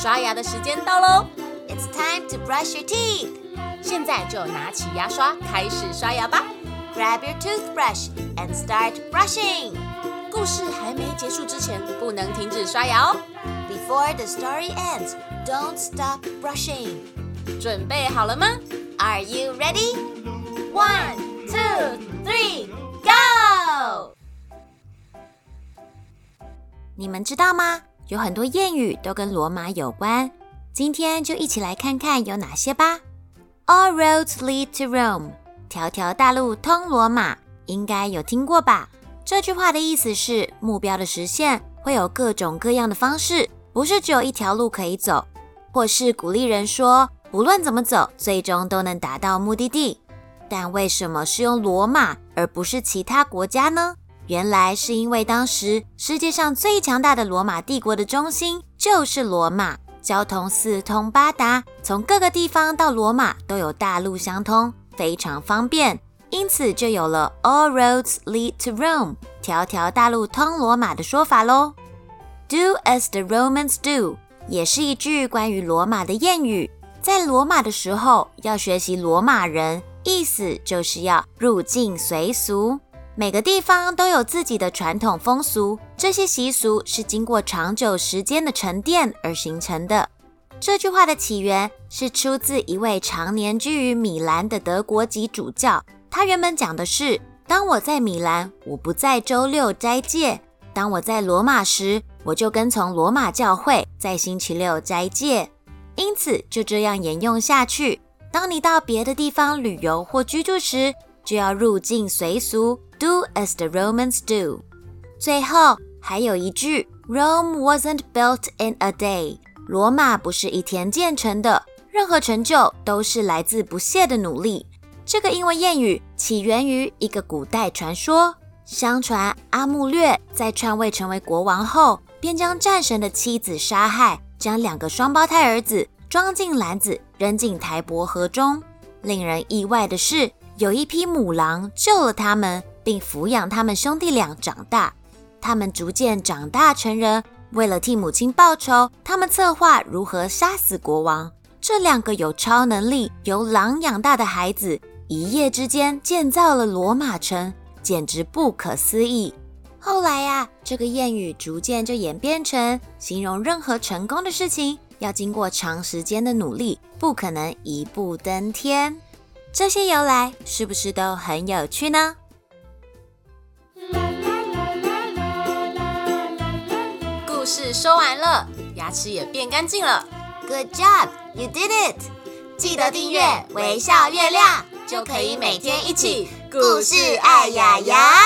刷牙的时间到咯。 It's time to brush your teeth. 现在就拿起牙刷开始刷牙吧。 Grab your toothbrush and start brushing. 故事还没结束之前，不能停止刷牙哦。 Before the story ends, don't stop brushing. 准备好了吗？ Are you ready? 1, 2, 3, go! 你们知道吗？有很多谚语都跟罗马有关，今天就一起来看看有哪些吧。All roads lead to Rome. 条条大路通罗马，应该有听过吧？这句话的意思是，目标的实现会有各种各样的方式，不是只有一条路可以走，或是鼓励人说，不论怎么走，最终都能达到目的地。但为什么是用罗马而不是其他国家呢？原来是因为当时世界上最强大的罗马帝国的中心就是罗马，交通四通八达，从各个地方到罗马都有大路相通，非常方便，因此就有了 All roads lead to Rome, 条条大路通罗马的说法咯。 Do as the Romans do 也是一句关于罗马的谚语，在罗马的时候要学习罗马人，意思就是要入境随俗。每个地方都有自己的传统风俗，这些习俗是经过长久时间的沉淀而形成的。这句话的起源是出自一位常年居于米兰的德国籍主教，他原本讲的是，当我在米兰，我不在周六斋戒；当我在罗马时，我就跟从罗马教会，在星期六斋戒。因此就这样沿用下去，当你到别的地方旅游或居住时，就要入境随俗， Do as the Romans do。 最后还有一句 Rome wasn't built in a day， 罗马不是一天建成的，任何成就都是来自不懈的努力。这个英文谚语起源于一个古代传说，相传阿穆略在篡位成为国王后，便将战神的妻子杀害，将2个双胞胎儿子装进篮子扔进台伯河中。令人意外的是，有一匹母狼救了他们，并抚养他们兄弟俩长大。他们逐渐长大成人，为了替母亲报仇，他们策划如何杀死国王。这2个有超能力、由狼养大的孩子，一夜之间建造了罗马城，简直不可思议。后来这个谚语逐渐就演变成形容任何成功的事情要经过长时间的努力，不可能一步登天。这些由来是不是都很有趣呢？ 故事说完了，牙齿也变干净了。 Good job, you did it！ 记得订阅微笑月亮，就可以每天一起故事爱牙牙。